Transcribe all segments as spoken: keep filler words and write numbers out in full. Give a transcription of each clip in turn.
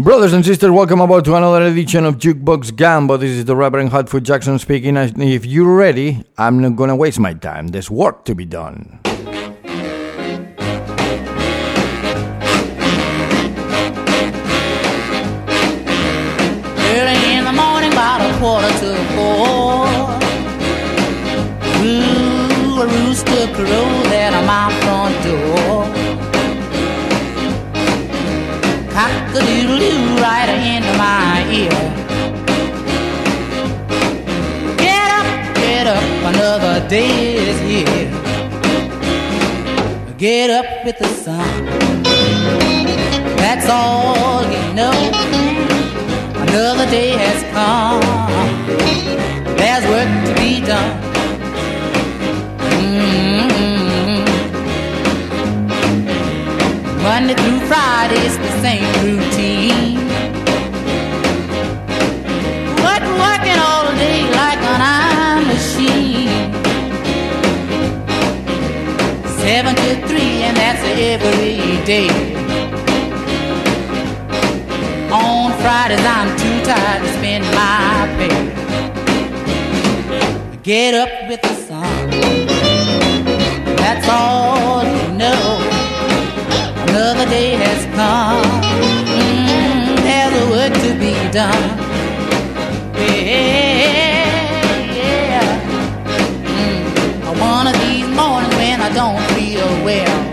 Brothers and sisters, welcome aboard to another edition of Jukebox Gambo. This is the Reverend Hotfoot Jackson speaking. If you're ready, I'm not gonna waste my time. There's work to be done. Early in the morning, about a quarter to four, ooh, a rooster crows at my front door. Cock-a-doodle-doo right into my ear. Get up, get up, another day is here. Get up with the sun, that's all you know. Another day has come, there's work to be done. Mm-hmm. Monday through Friday, it's the same routine. Work, working all day like an iron machine. Seven to three, and that's every day. On Fridays, I'm too tired to spend my pay. Get up with the sun, that's all you know. Another day has come, mm, there's a work to be done. Yeah, yeah. Mm, one of these mornings when I don't feel well,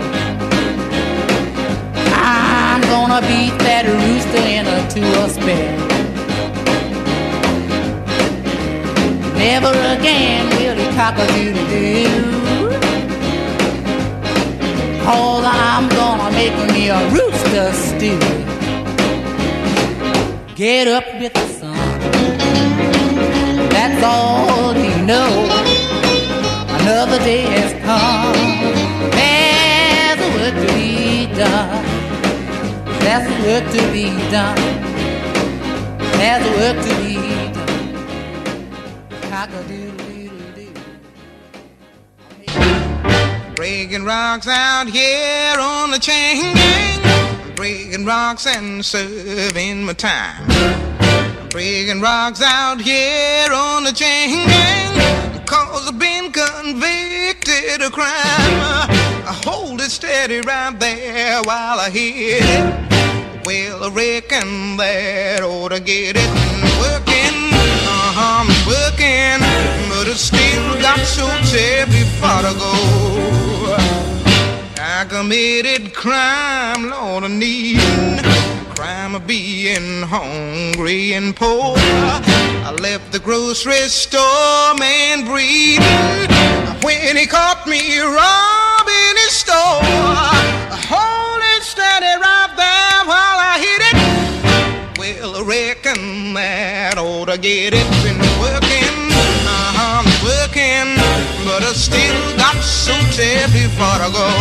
I'm gonna beat that rooster into a spell. Never again will he cock-a-doodle-doo, 'cause I'm gonna make me a rooster stew. Get up with the sun, that's all you know. Another day has come, there's a work to be done. There's a work to be done. There's a work to be done. Cock-a-doodle-doo-doo. Breaking rocks out here on the chain gang, breaking rocks and serving my time. Breaking rocks out here on the chain gang, 'cause I've been convicted of crime. I hold it steady right there while I hit it. Well, I reckon that ought to get it. Working, uh-huh, I'm working, but I still got so terribly far to go. I committed crime, Lord, I need crime of being hungry and poor. I left the grocery store man breathing when he caught me robbing his store. Hold it steady right there while I hit it. Well, I reckon that ought to get it. Been working, uh-huh, working, but I still got so terribly far to go.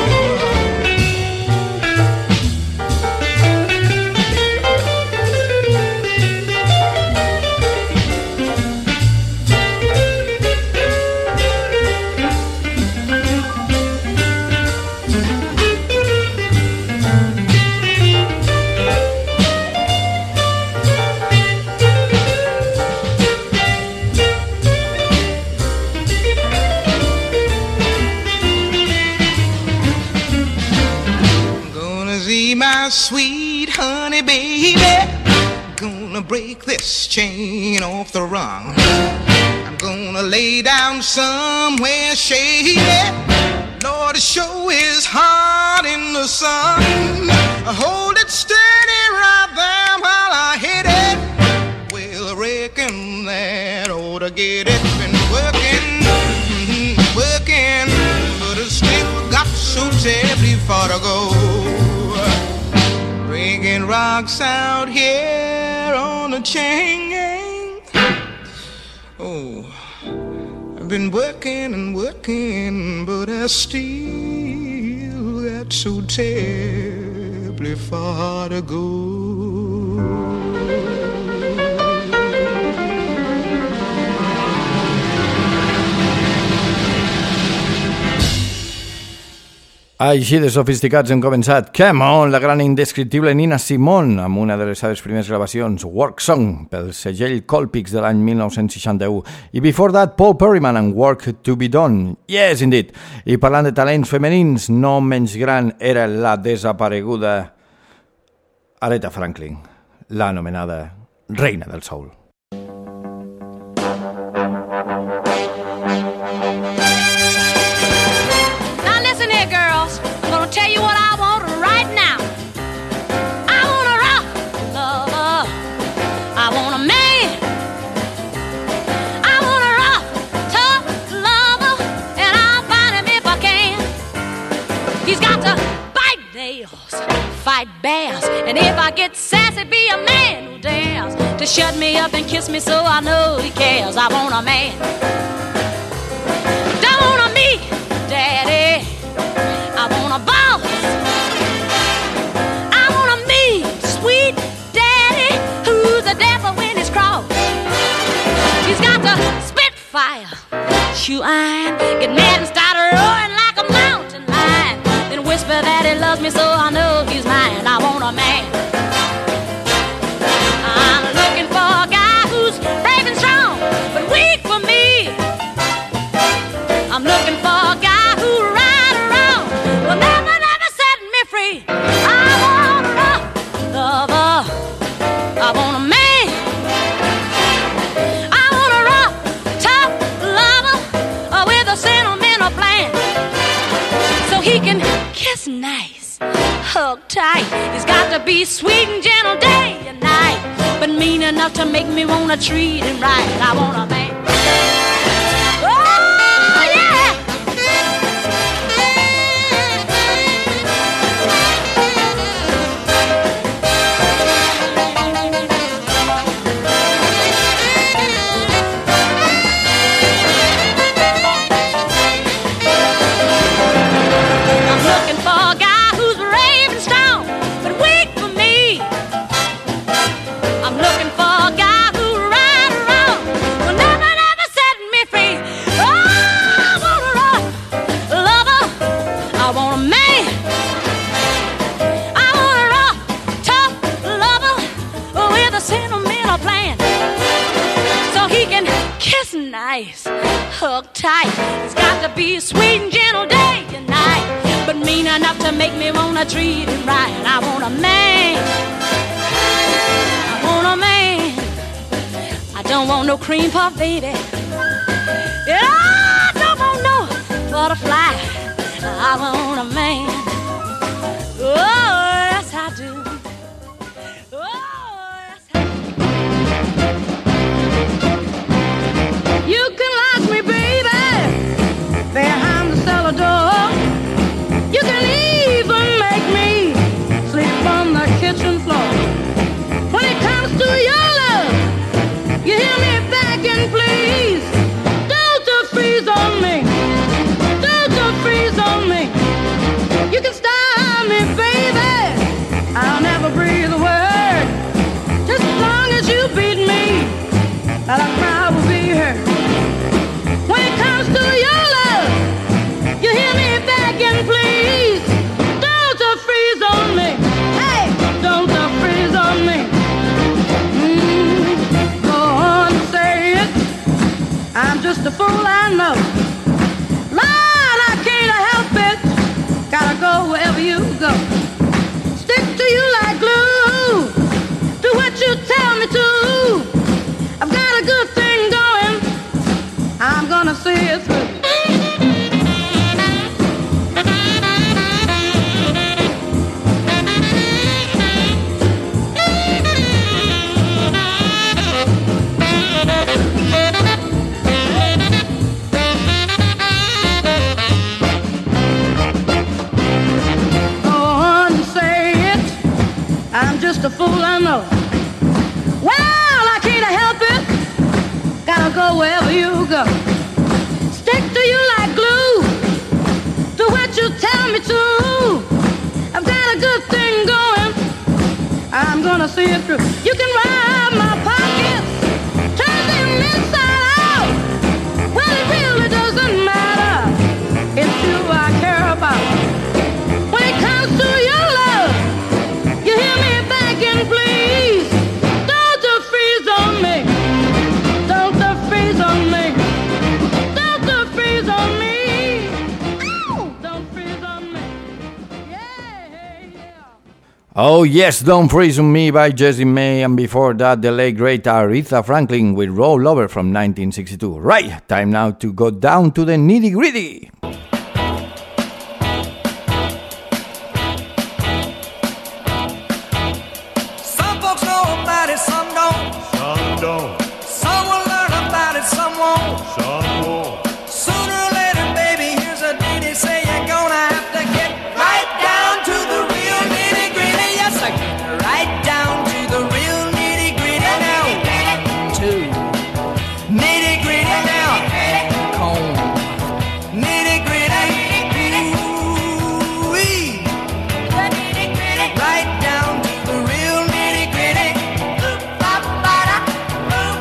My sweet honey baby, gonna break this chain off the rung. I'm gonna lay down somewhere shady. Lord, it sure is hot in the sun. Hold it steady right there while I hit it. Well, I reckon that ought to get it. Been working, mm-hmm, working, but I still got so terribly far to go. Breaking rocks out here on the chain gang. Oh, I've been working and working, but I still got so terribly far to go. Així de sofisticats hem començat. Come on, la gran indescriptible Nina Simone, amb una de les seves primeres gravacions, Work Song, pel segell Colpix de l'any mil nou-cents seixanta-u. I before that, Paul Perryman and Work to be Done. Yes, indeed. I parlant de talents femenins, no menys gran era la desapareguda Aretha Franklin, l'anomenada Reina del Soul. Tell you what I want right now. I want a rock lover. I want a man. I want a rock tough lover, and I'll find him if I can. He's got to bite nails, fight bears, and if I get sassy, be a man who dares to shut me up and kiss me so I know he cares. I want a man. Don't want a me, daddy. I want a boss. I want a mean, sweet daddy who's a devil when he's cross. He's got to spit fire, chew iron, get mad and start roaring like a mountain lion, then whisper that he loves me so I know he's mine. I want a man. I'm looking for a guy who's brave and strong, but weak for me. I'm looking for a guy who right or wrong will never, never set me free. I want a rough lover. I want a man. I want a rough, tough lover uh, with a sentimental plan, so he can kiss nice, hug tight. He's got to be sweet and gentle day and night, but mean enough to make me wanna treat him right. I want a man. Nice, hug tight. It's got to be sweet and gentle day and night, but mean enough to make me wanna treat him right. I want a man. I want a man. I don't want no cream puff, baby. And I don't want no butterfly. I want a man. Oh, yes I do. You can lock me, baby, behind the cellar door. You can even make me sleep on the kitchen floor. When it comes to your love, you hear me begging, please. Don't you freeze on me. Don't you freeze on me. You can stop me, baby. I'll never breathe a word. Just as long as you beat me, I'll cry will be heard. When it comes to your love, you hear me begging, please. Don't you freeze on me. Hey, don't you freeze on me. Mm, go on and say it. I'm just a fool, I know. Lord, I can't help it. Gotta go wherever you go. Stick to you like glue. Do what you tell me to. I've got a good thing going. I'm gonna see it through. Go on and say it. I'm just a fool, I know. Well, I can't help it. Gotta go wherever you go. Stick to you like glue. Do what you tell me to. I've got a good thing going. I'm gonna see it through. You can rob my pockets, turn them inside out. Well, it really doesn't matter. It's you I care about. Oh Yes, Don't Freeze on Me by Jessie May, and before that the late great Aretha Franklin with Roll Over from nineteen sixty-two. Right, time now to go down to the nitty gritty. Some folks know about it, some don't. Some don't. Some will learn about it, some won't. Some won't. Sooner or later, baby, here's a ditty say you're gonna have to get right down to the real nitty gritty. Yes, I get right down to the real nitty gritty now. One, two, nitty gritty now. Comb, nitty gritty. Ooh wee. Right down to the real nitty gritty. Ooh ba ba da, ooh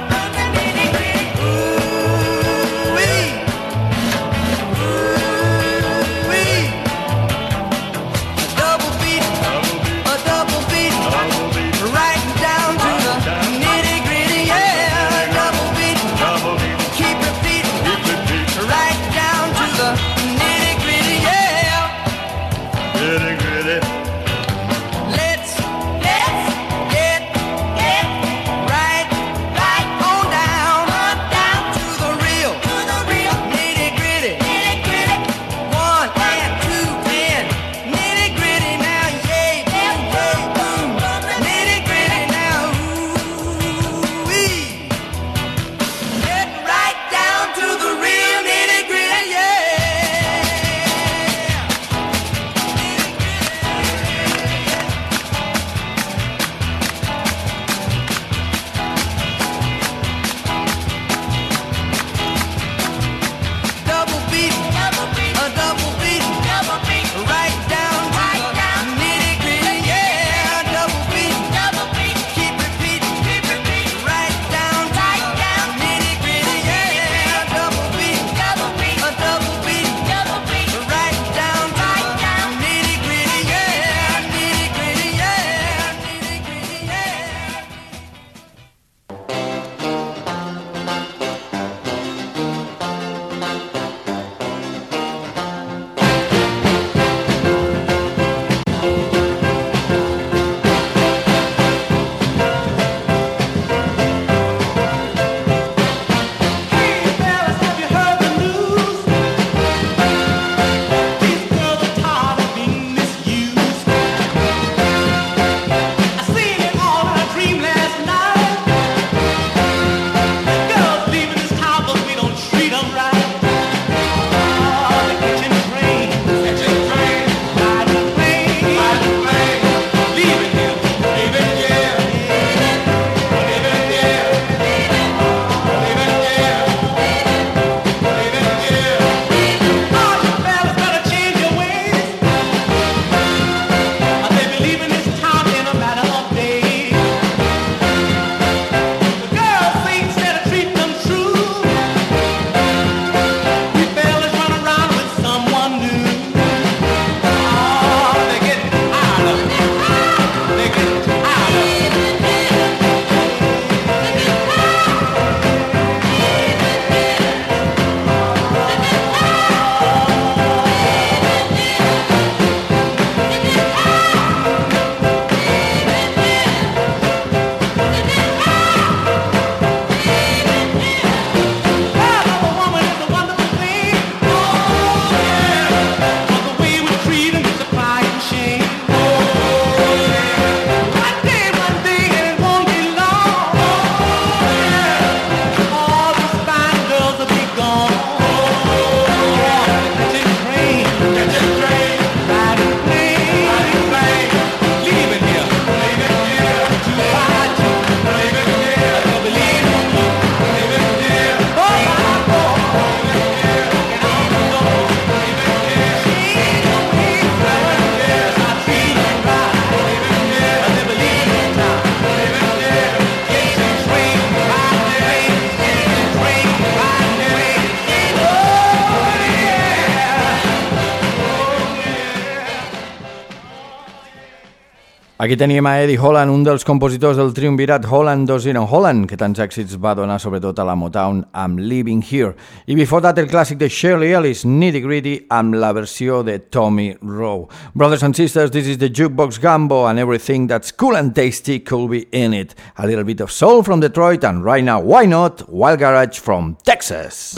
Aquí teníem a Eddie Holland, un dels compositors del triumvirat Holland Dozier Holland, que tants èxits va donar sobretot a la Motown amb Living Here. I before that el clàssic de Shirley Ellis, Nitty Gritty, amb la versió de Tommy Rowe. Brothers and sisters, this is the Jukebox Gumbo, and everything that's cool and tasty could be in it. A little bit of soul from Detroit, and right now, why not, Wild Garage from Texas.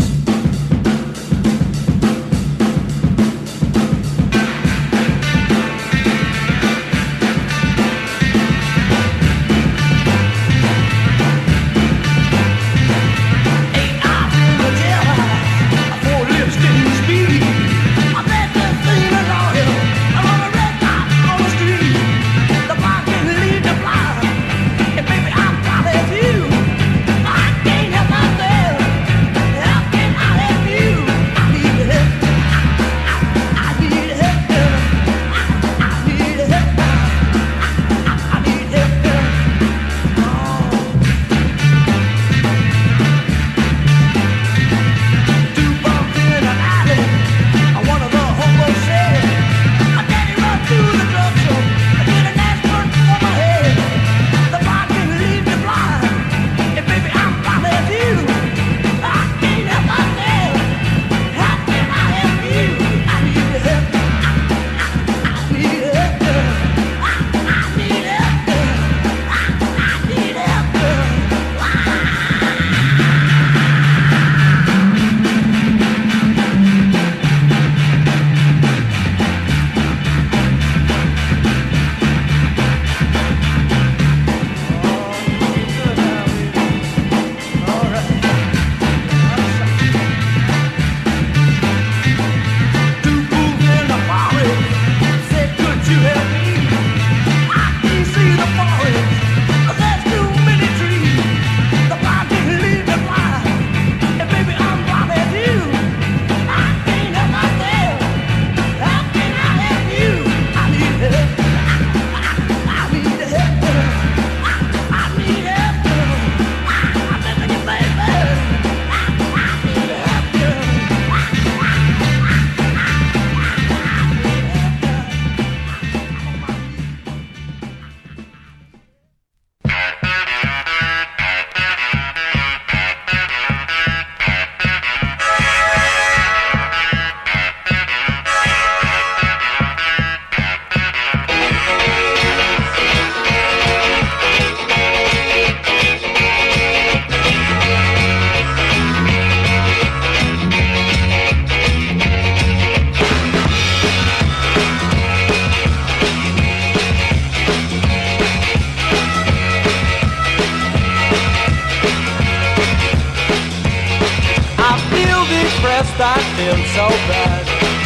I feel so bad,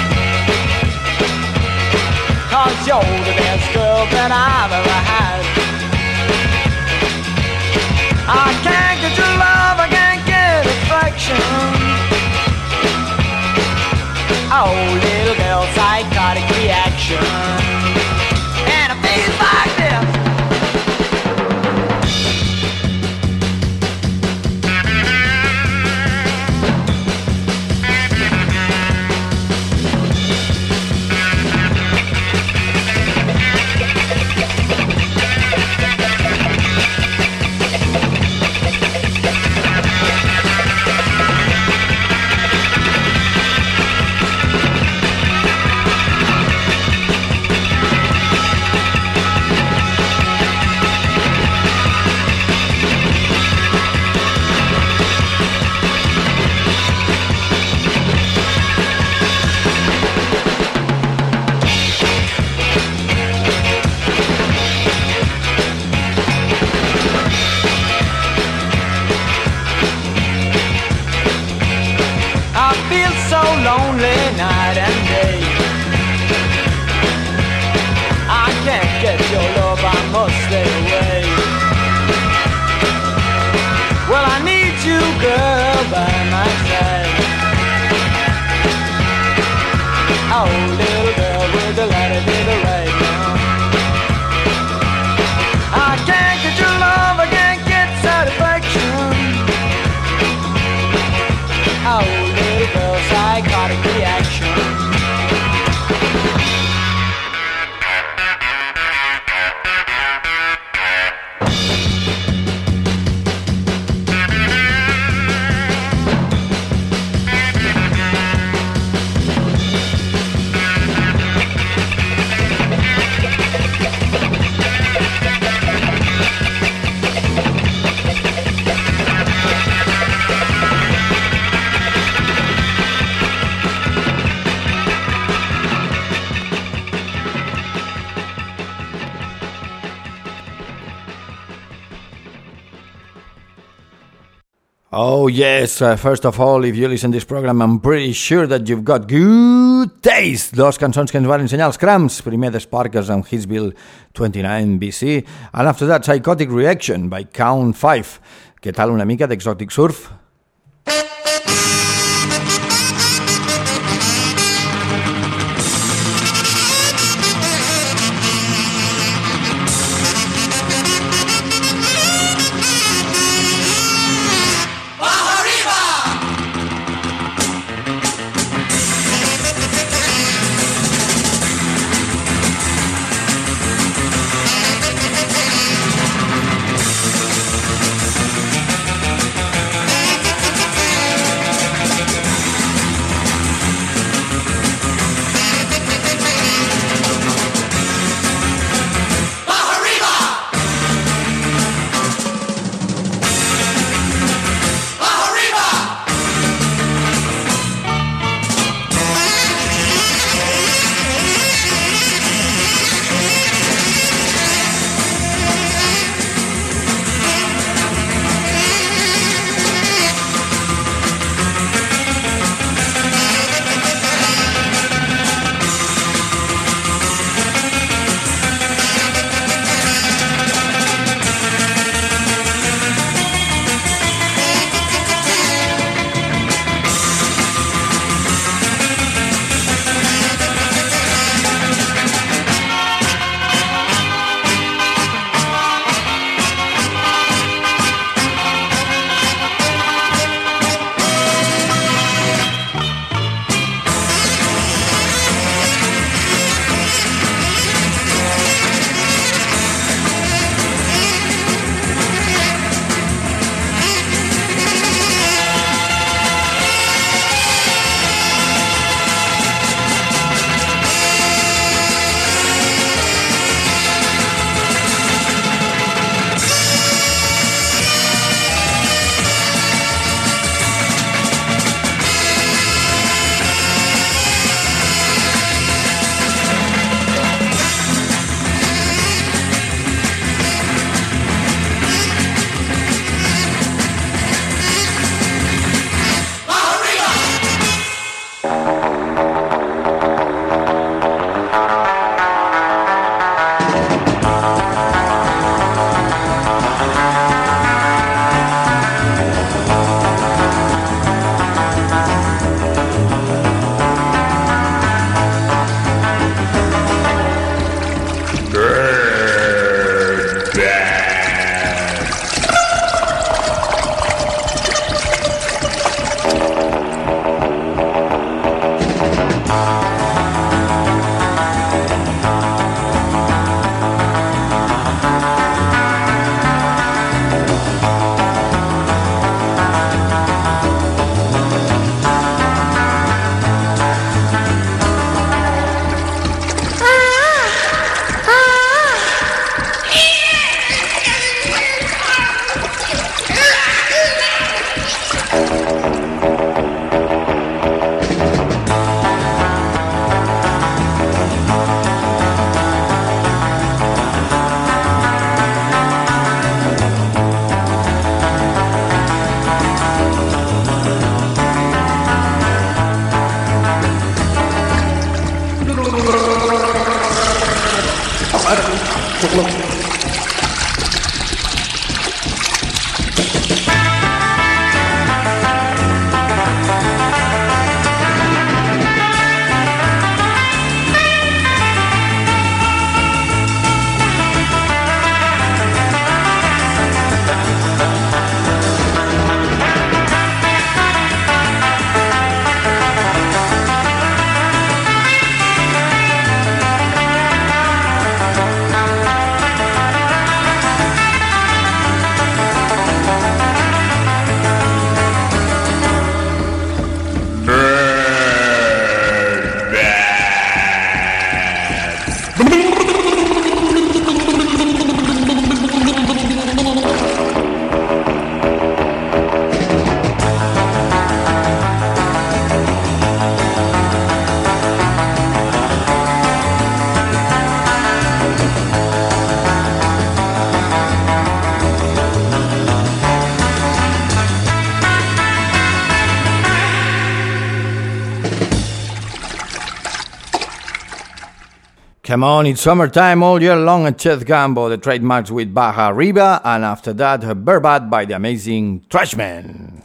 'cause you're the best girl that I've ever had. I can't get your love, I can't get affection. Oh, little girl, psychotic reaction. And it feels like this. Lonely night and day, I can't get your love, I must stay away. Well, I need you, girl, by my side. Oh, little girl with the light of the right now. I can't get your love, I can't get satisfaction. Oh, little girl, psychotic reaction. Oh yes, uh, first of all, if you listen to this program, I'm pretty sure that you've got good taste. Dos cançons que ens van ensenyar els Cramps, primer The Sparkers amb Hitsville twenty-nine B C, and after that Psychotic Reaction by Count five. Què tal una mica d'Exotic Surf? Bye. Come on, it's summertime all year long at Chet Gambo, the trademarks with Baja Arriba, and after that, Burbat by the amazing Trashman.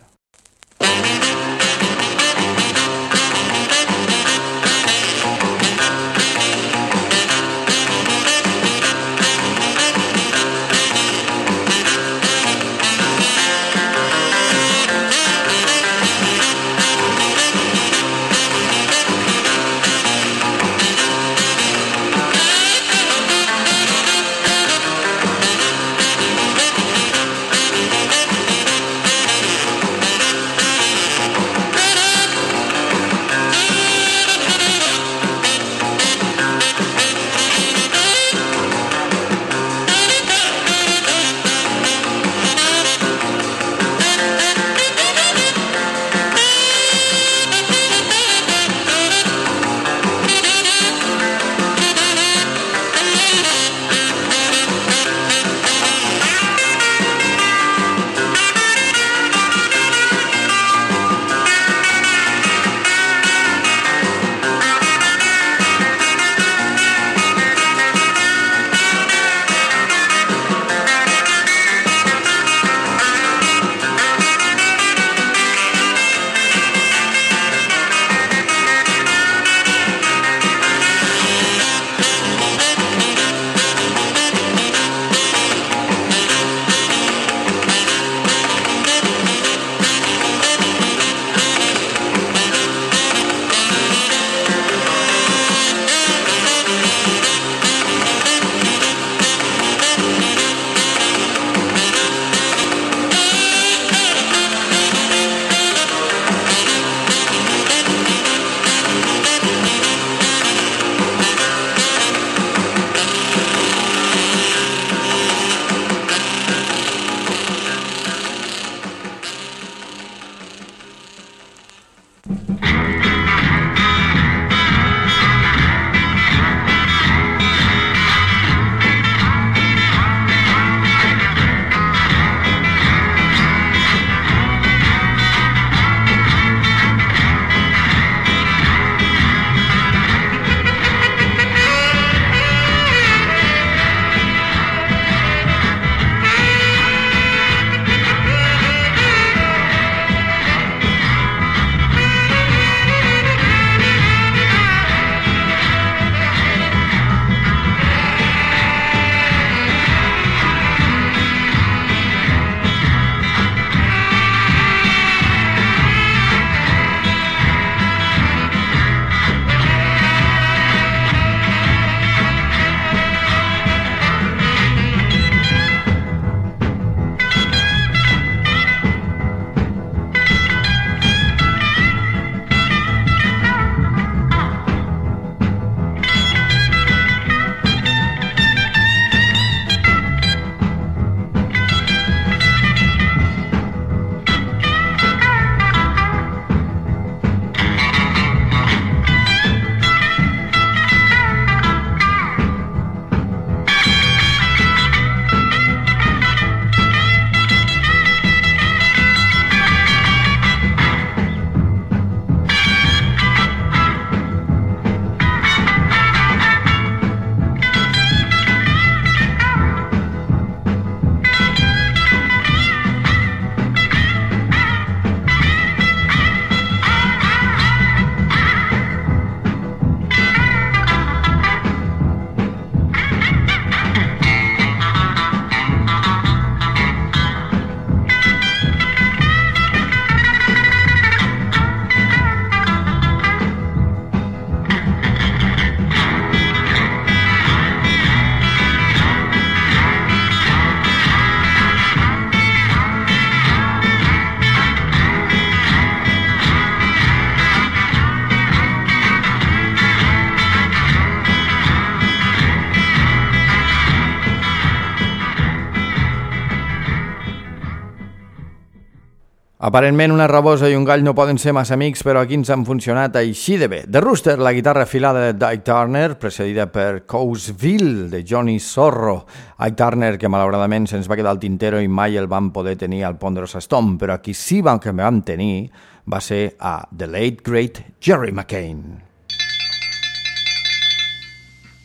Aparentment una rabosa i un gall no poden ser massa amics, però aquí ens han funcionat així de bé. The Rooster, la guitarra afilada de Ike Turner, precedida per Coastville, de Johnny Zorro. Ike Turner, que malauradament se'ns va quedar al tintero i mai el vam poder tenir al Ponderosa Stone, però aquí sí que vam tenir va ser a The Late Great Jerry McCain.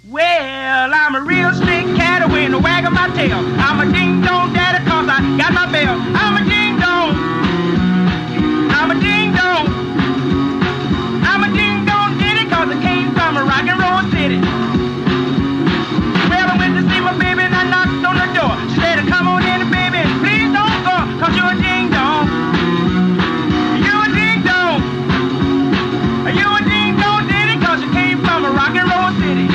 Well, I'm a real slick cat with a wag of my tail. I'm a ding-dong daddy cause I got my bell. I'm a ding-dong. I'm a ding-dong. I'm a ding-dong ditty cause I came from a rock and roll city. Well, I went to see my baby and I knocked on the door. She said, come on in, baby, and please don't go cause you're a ding-dong. You're a ding-dong. You're a ding-dong ditty cause you came from a rock and roll city.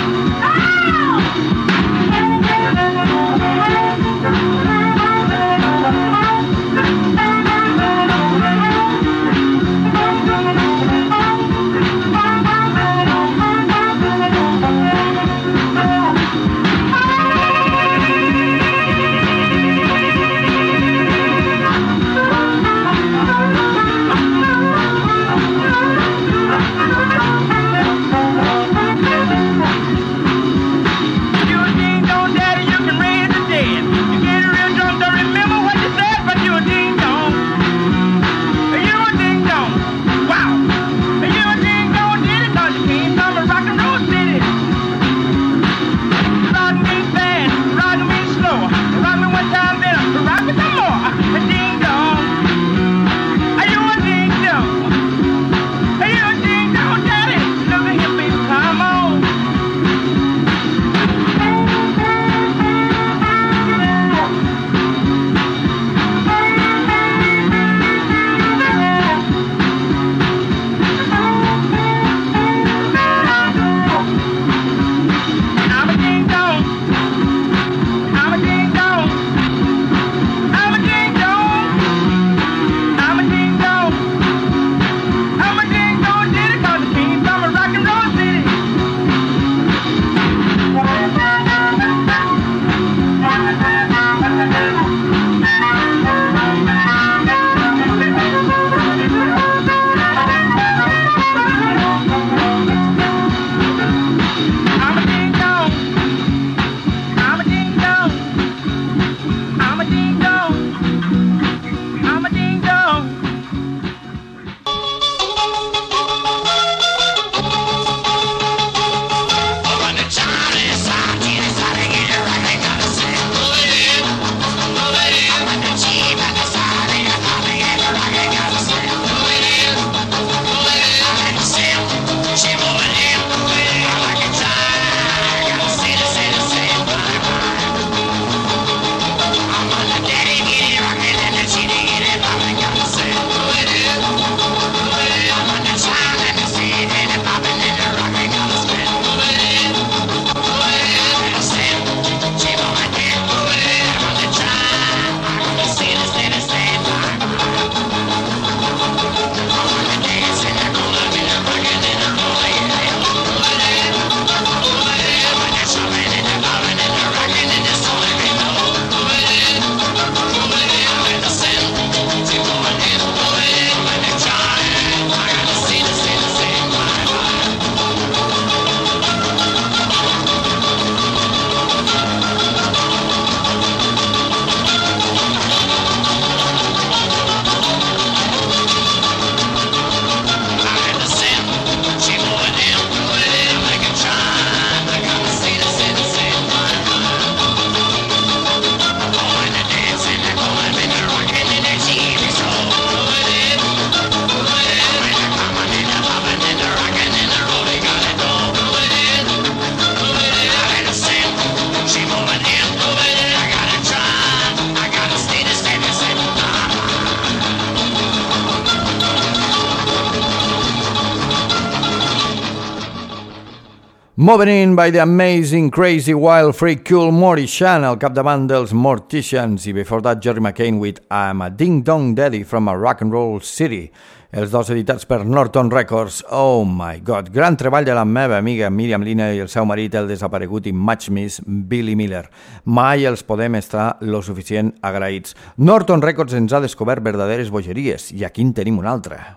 Moving In by the Amazing, Crazy, Wild, Freak, Cool Mortician, al capdavant dels Morticians, i before that Jerry McCain with I'm a Ding Dong Daddy from a Rock and Roll City, els dos editats per Norton Records. Oh my god, gran treball de la meva amiga Miriam Lina i el seu marit, el desaparegut i much miss Billy Miller. Mai els podem estar lo suficient agraïts. Norton Records ens ha descobert verdaderes bogeries i aquí en tenim una altra.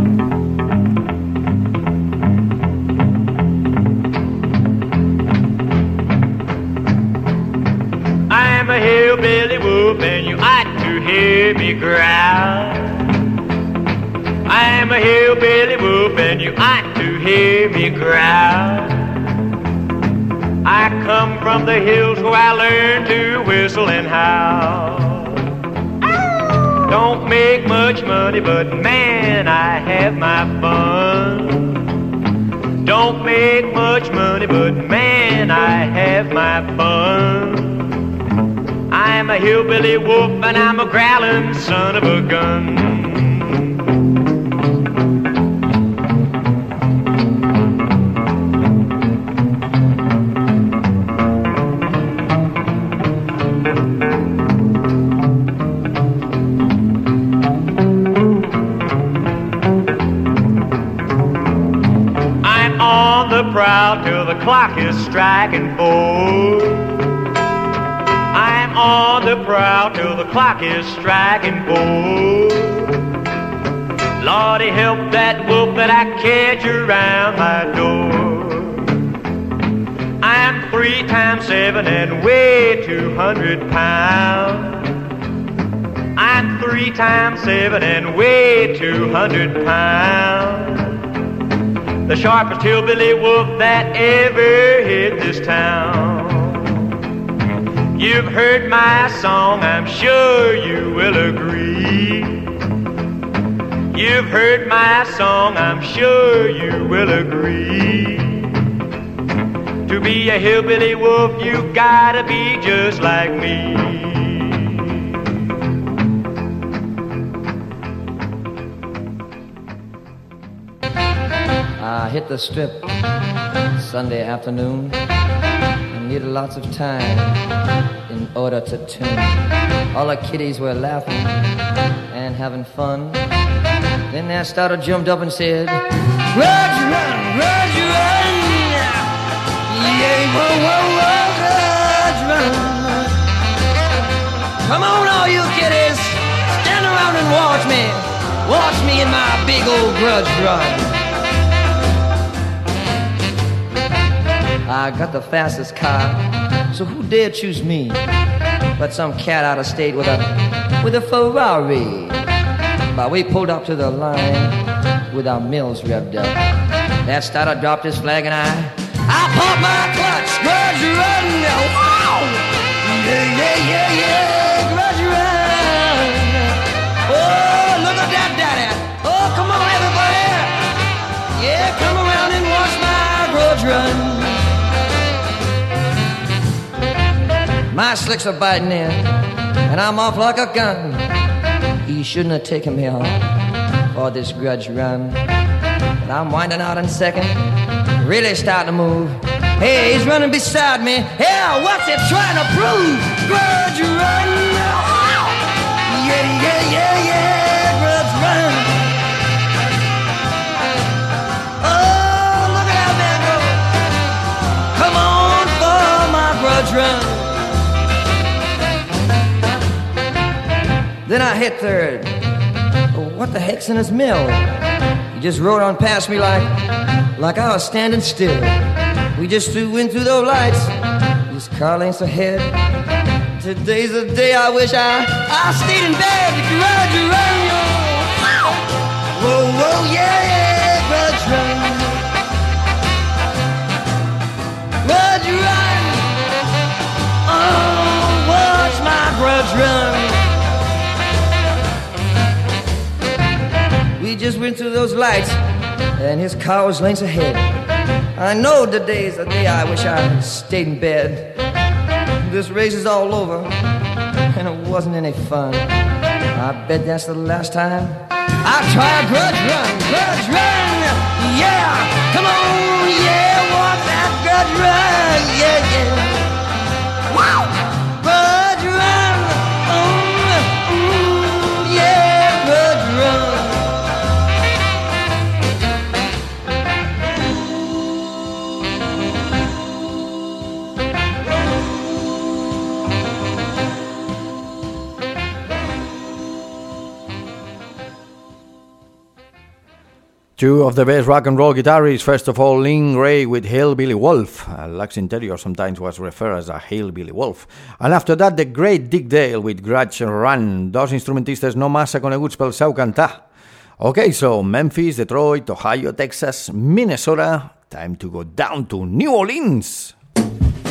I'm a hillbilly wolf and you ought to hear me growl. I'm a hillbilly wolf and you ought to hear me growl. I come from the hills where I learned to whistle and howl. Don't make much money, but man, I have my fun. Don't make much money, but man, I have my fun. I'm a hillbilly wolf and I'm a growling son of a gun. Proud till the clock is striking four. I'm on the prowl till the clock is striking four. Lordy, help that wolf that I catch around my door. I'm three times seven and weigh two hundred pounds. I'm three times seven and weigh two hundred pounds. The sharpest hillbilly wolf that ever hit this town. You've heard my song, I'm sure you will agree. You've heard my song, I'm sure you will agree. To be a hillbilly wolf, you gotta be just like me. I hit the strip Sunday afternoon and needed lots of time in order to tune. All the kiddies were laughing and having fun. Then that starter jumped up and said, "Grudge run, grudge run, yeah, whoa, whoa, whoa, grudge run. Come on, all you kiddies, stand around and watch me, watch me in my big old grudge run." I got the fastest car, so who dared choose me but some cat out of state with a with a Ferrari. But we pulled up to the line with our mills revved up. That starter dropped his flag and I I popped my clutch, grudge run, wow! Yeah, yeah, yeah, yeah, grudge run. Oh, look at that daddy. Oh, come on everybody. Yeah, come around and watch my grudge run. My slicks are biting in, and I'm off like a gun. He shouldn't have taken me off for this grudge run. But I'm winding out in second, really starting to move. Hey, he's running beside me. Yeah, what's he trying to prove? Grudge run. Yeah, yeah, yeah, yeah, grudge run. Oh, look at that man go. Come on for my grudge run. Then I hit third. Oh, what the heck's in his mill? He just rode on past me like, like I was standing still. We just flew in through those lights, just car lengths ahead. Today's the day I wish I, I stayed in bed. Grudge run, yo. Whoa, whoa, yeah, yeah, grudge run. Grudge run. Oh, watch my grudge run. We just went through those lights, and his car was lengths ahead. I know today's the day I wish I stayed in bed. This race is all over, and it wasn't any fun. I bet that's the last time I'll try a grudge run, grudge run. Yeah, come on, yeah, walk that grudge run, yeah, yeah. Wow, grudge run, mm, mm, yeah, grudge run. Two of the best rock and roll guitarists. First of all, Lynn Ray with Hillbilly Wolf. Uh, Lux Interior sometimes was referred as a Hillbilly Wolf. And after that, the great Dick Dale with Grudge Run. Dos instrumentistes no massa coneguts pel seu cantar. Okay, so Memphis, Detroit, Ohio, Texas, Minnesota. Time to go down to New Orleans.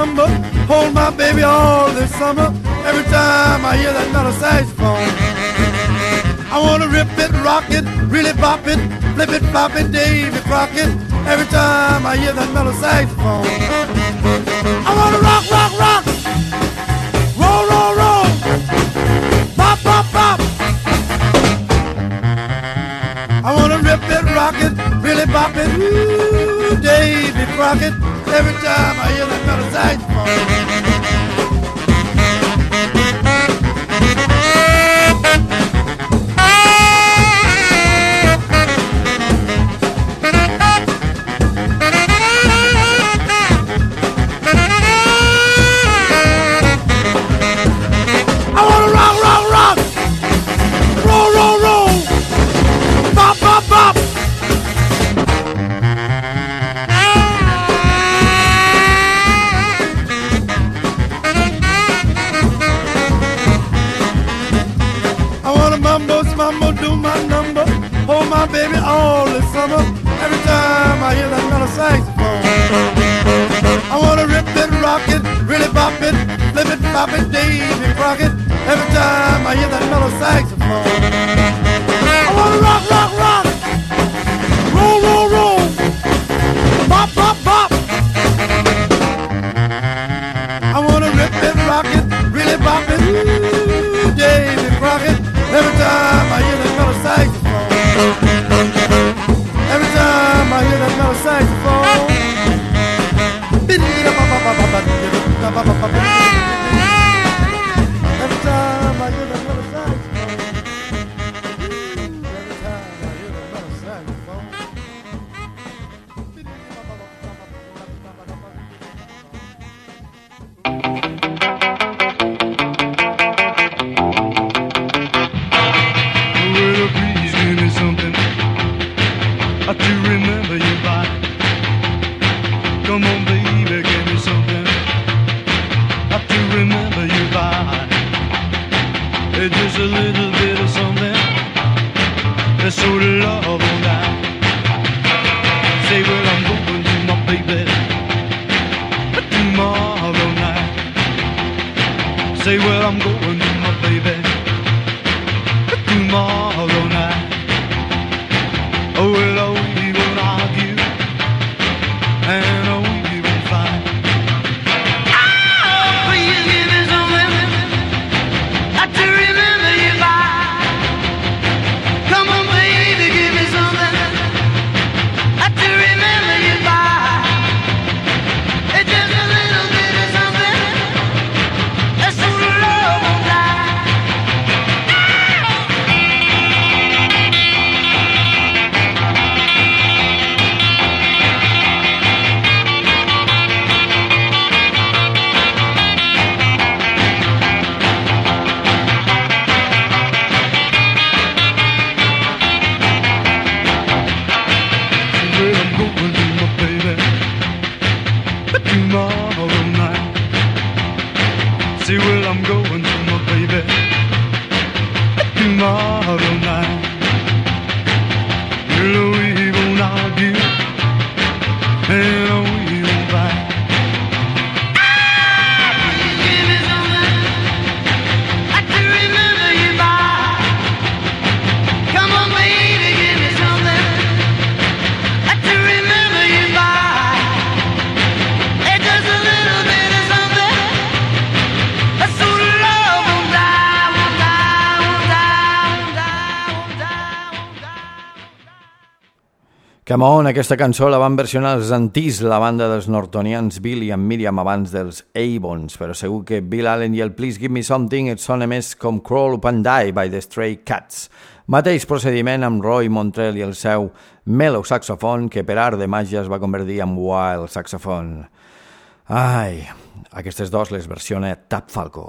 number, hold my baby all this summer. Every time I hear that metal saxophone, I wanna rip it, rock it, really bop it, flip it, flop it, Davy Crockett. Every time I hear that metal saxophone, I wanna rock, rock, rock, roll, roll, roll, bop, bop, bop. I wanna rip it, rock it, really bop it, ooh, Davy Crockett. Every time I hear that metal saxophone. Baby, all this summer, every time I hear that metal saxophone, I wanna rip it, rock it, really bop it, flip it, flop it, Davy Crockett. Every time I hear that metal saxophone, I wanna rock, rock, rock, roll, roll, roll, bop, bop, bop. I wanna rip it, rock it, really bop it, ooh, Davy Crockett. Every time I hear that metal saxophone. Every time I hear that metal saxophone, every time I hear that metal saxophone, every time I hear that metal saxophone. To remember you by. Come on, baby, give me something to remember you by. It's just a little bit of something that's so love all night. Say, well, I'm going to my baby tomorrow night. Say, well, I'm going to my baby tomorrow night. Oh, well, oh, we won't argue, and oh, we won't fight. Oh, please give me something to remember you by. Come on, baby, give me something to remember you by. It's just a little bit of something that's so love won't die. Say, well, I'm going to my baby tomorrow night. Well, we won't argue, and we won't fight. Give me something to remember you by. Come on, baby, give me something to remember you by. It's just a little bit of something. Come on, aquesta cançó la van versionar els Antis, la banda dels nortonians Bill i en Miriam abans dels Avons, però segur que Bill Allen i el Please Give Me Something et sona més com Crawl Up and Die by the Stray Cats. Mateix procediment amb Roy Montrell i el seu mellow saxofon, que per art de màgia es va convertir en wild saxofon. Ai, aquestes dos les versiona Tap Falco.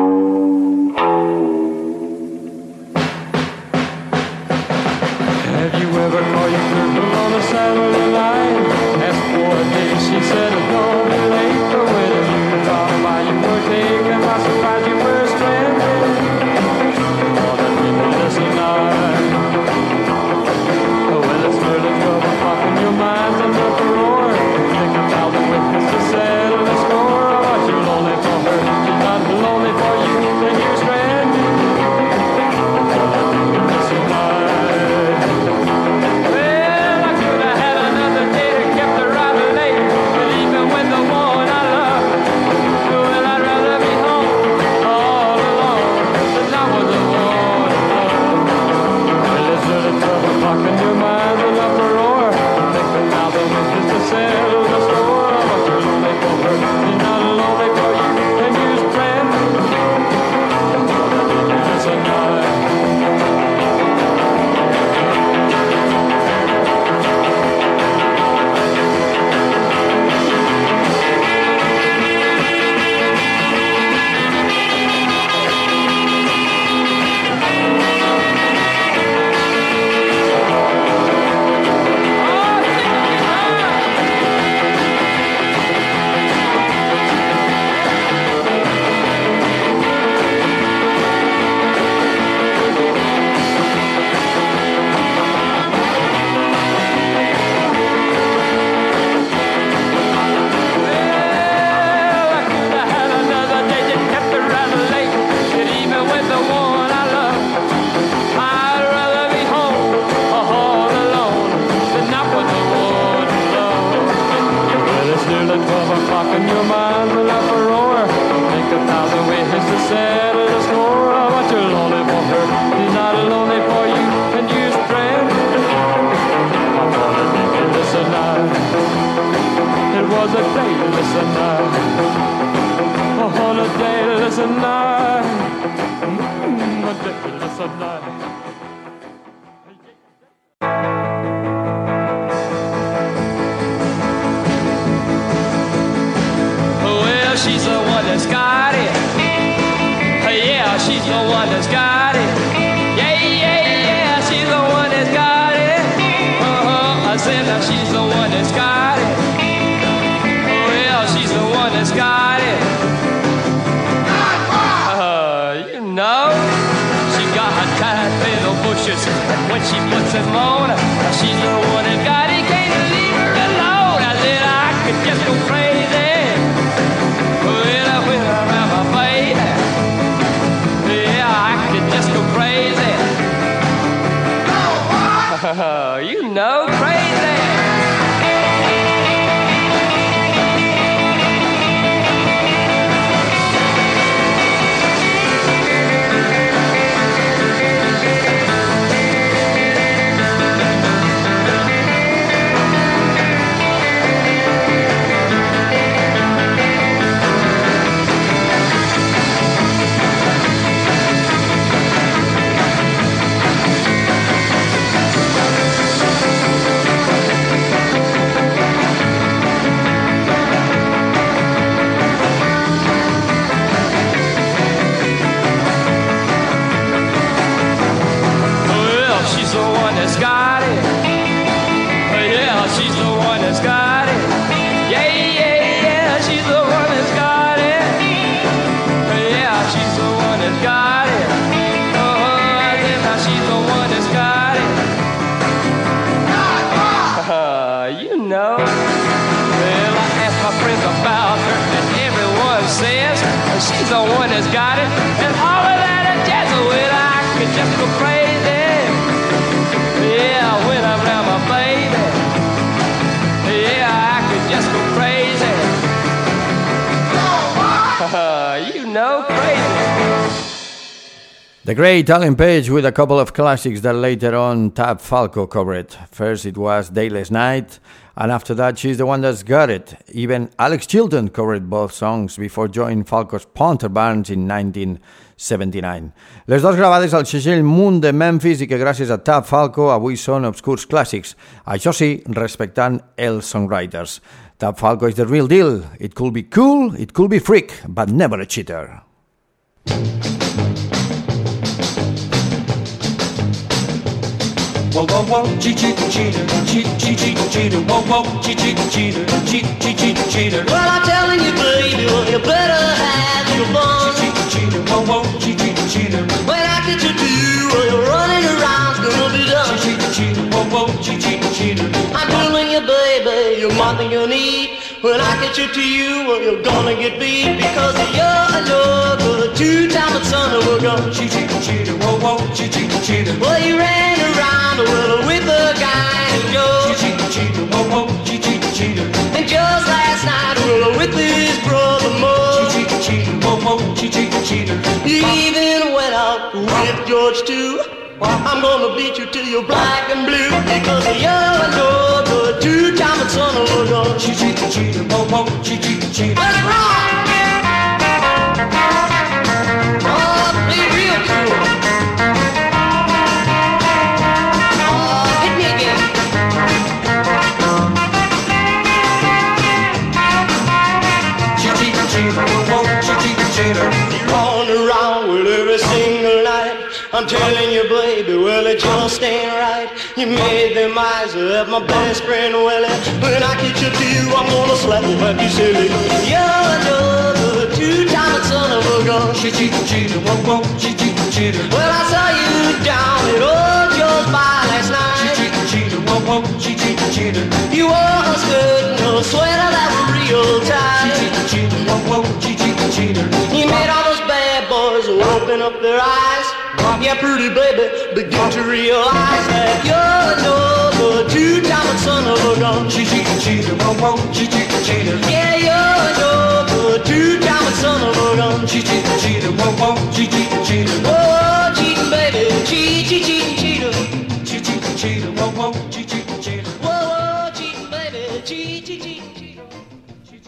Have you ever called your girl on a Saturday night? Asked for a date, she said it's gonna be late. But when you thought about you were taken by surprise, you were stranded on a winterless night. Well, it's early twelve o'clock and your mind's under the roar. Think about the witness to settle the score. dayless night, on a dayless night, mm, a dayless night. Well, she's the one that's got it. Yeah, she's the one that's got it. Yeah, yeah, yeah, she's the one that's got it. Uh-huh, I said now she's the one that's got it. Well, she's the one that's got it. Uh, you know, she got her tight little bushes, and when she puts them on, she's the one that got it. Can't leave her alone. I said I could just go crazy. Well, I went around my baby. Yeah, I could just go crazy. You know, crazy. Got it. Yeah, she's the one that's got it. Yeah, yeah, yeah, she's the one that's got it. Yeah, she's the one that's got it. Oh, yeah, she's the one that's got it. Uh, you know. Well, I asked my friends about her, and everyone says she's the one that's got it. And all of that is just, well, I could just go crazy. Yeah, when I'm around my baby, yeah, I could just go crazy. Uh, you know, crazy. The great Alan Page with a couple of classics that later on Tab Falco covered. First it was Dayless Night, and after that She's the One That's Got It. Even Alex Chilton covered both songs before joining Falco's Punter Barnes in nineteen seventy-nine. Les dos gravades al segell Moon de Memphis i que gràcies a Tab Falco avui són obscurs clàssics. Això sí, respectant els songwriters. Tab Falco is the real deal. It could be cool, it could be freak, but never a cheater. Whoa, whoa, whoa, cheat, cheat, cheater, cheat, cheat, cheat, cheater, whoa, whoa, cheat, cheat, cheater, cheat, cheat, cheat, cheater. Well, I'm telling you, baby, well, you better have your fun. Cheat, cheat, cheater, whoa, whoa, cheat, cheat, cheater. When I get you to you, well, you're running around, it's gonna be done. Cheat, cheat, cheater, whoa, whoa, cheat, cheat, cheater. I'm telling you, baby, you're more than you need. When I get you to you, well, you're gonna get beat because you're another two-time son of a gun. Cheat, cheat, cheater, whoa, whoa, cheat, cheat, cheater. Well, you ran around well with the guy named Joe. Cheat, cheat, cheater, whoa, whoa, cheat, cheat, cheater. And just last night, well, with his brother Mo. Cheat, cheat, cheater, whoa, whoa, cheat, cheat, cheater. You even went out with George too. I'm gonna beat you till you're black and blue because you're another two-time son of a gun. Cheat, cheat, cheater, whoa, whoa, cheat, cheat, cheater. Let's rock! Oh, be real cool. Oh, hit me again. Cheat, cheat, cheater, whoa, whoa, cheat, cheat, cheater. You're on around with every single night. I'm telling you, baby, well, it just ain't right. You made them eyes of my best friend Willie. When I get you to you, I'm gonna slap you like you silly. You're another two-time son of a gun. Cheat, cheat, cheater, whoa, whoa, cheat, cheat, cheater. Well, I saw you down at Old Joe's bar last night. Cheat, cheat, cheater, whoa, whoa, cheat, cheat, cheater. You wore a skirt and a sweater that were real tight. Cheat, cheat, cheater, whoa, whoa, cheat, cheat, cheater. You made all those bad boys open up their eyes. Yeah, pretty baby, begin to realize that you're another two-time son of a gun. Cheat, cheat, cheater, whoa, whoa, cheat, cheat, cheater. Yeah, you're another two-time son of a gun. Cheat, cheat, cheater, whoa, whoa, cheat, cheat, cheater. Oh, cheating baby, cheat, cheat, cheating cheater. Cheat, cheat, cheater, whoa, whoa, cheat, cheat, cheater. Whoa, whoa, cheating baby, cheat, cheat, cheating cheater.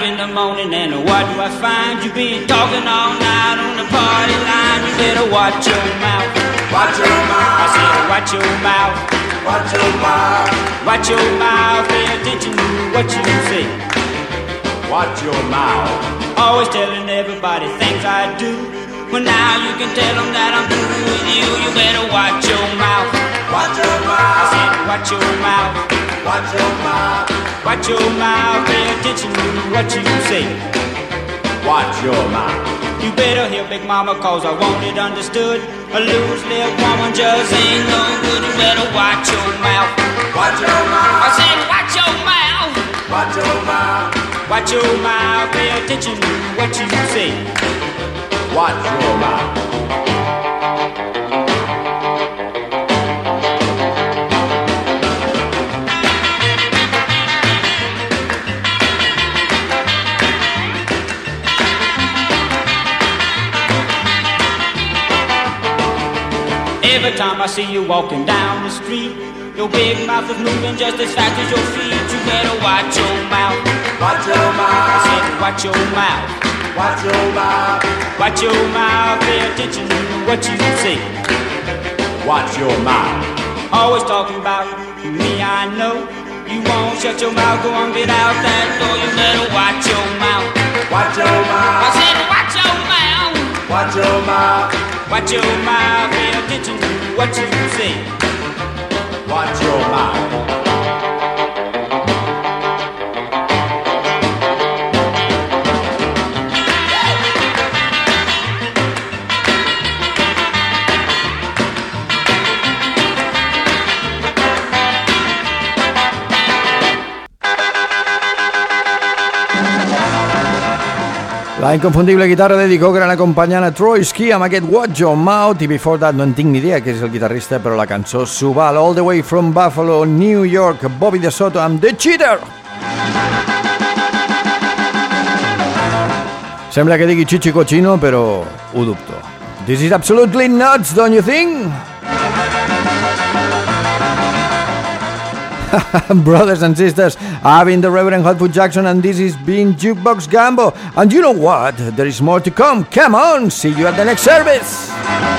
in the morning and what do I find? You been talking all night on the party line. You better watch your mouth. Watch your mouth. I said watch your mouth. Watch your mouth. Watch your mouth. Pay attention to what you say. Watch your mouth. Always telling everybody things I do. Well, now you can tell them that I'm through with you. You better watch your mouth. Watch your mouth. I said watch your mouth. Watch your mouth. Watch your mouth. Pay attention to what you say. Watch your mouth. You better hear Big Mama, cause I want it understood. A loose lip woman just ain't no good. You better watch your mouth. Watch your mouth. I said watch your mouth. Watch your mouth. Watch your mouth. Pay attention to what you say. Watch your mouth. Every time I see you walking down the street, your big mouth is moving just as fast as your feet. You better watch your mouth. Watch your mouth. I said watch your mouth. Watch your mouth. Watch your mouth. Pay attention to what you say. Watch your mouth. Always talking about me, I know. You won't shut your mouth, go on, get out that door. You better watch your mouth. Watch your mouth. I said watch your mouth. Watch your mouth. Watch your mouth. Pay attention to what you say. Watch your mouth. La inconfundible guitarra de Eddie Cochran acompanyant a Troy Ski amb aquest Watch Your Mouth, i Before That no en tinc ni idea que és el guitarrista, però la cançó s'ho val. All the way from Buffalo, New York, Bobby DeSoto amb The Cheater. Sembla que digui Chichi Cochino, però ho dubto. This is absolutely nuts, don't you think? Brothers and sisters, I've been the Reverend Hotfoot Jackson, and this is been Jukebox Gambo. And you know what? There is more to come. Come on, see you at the next service.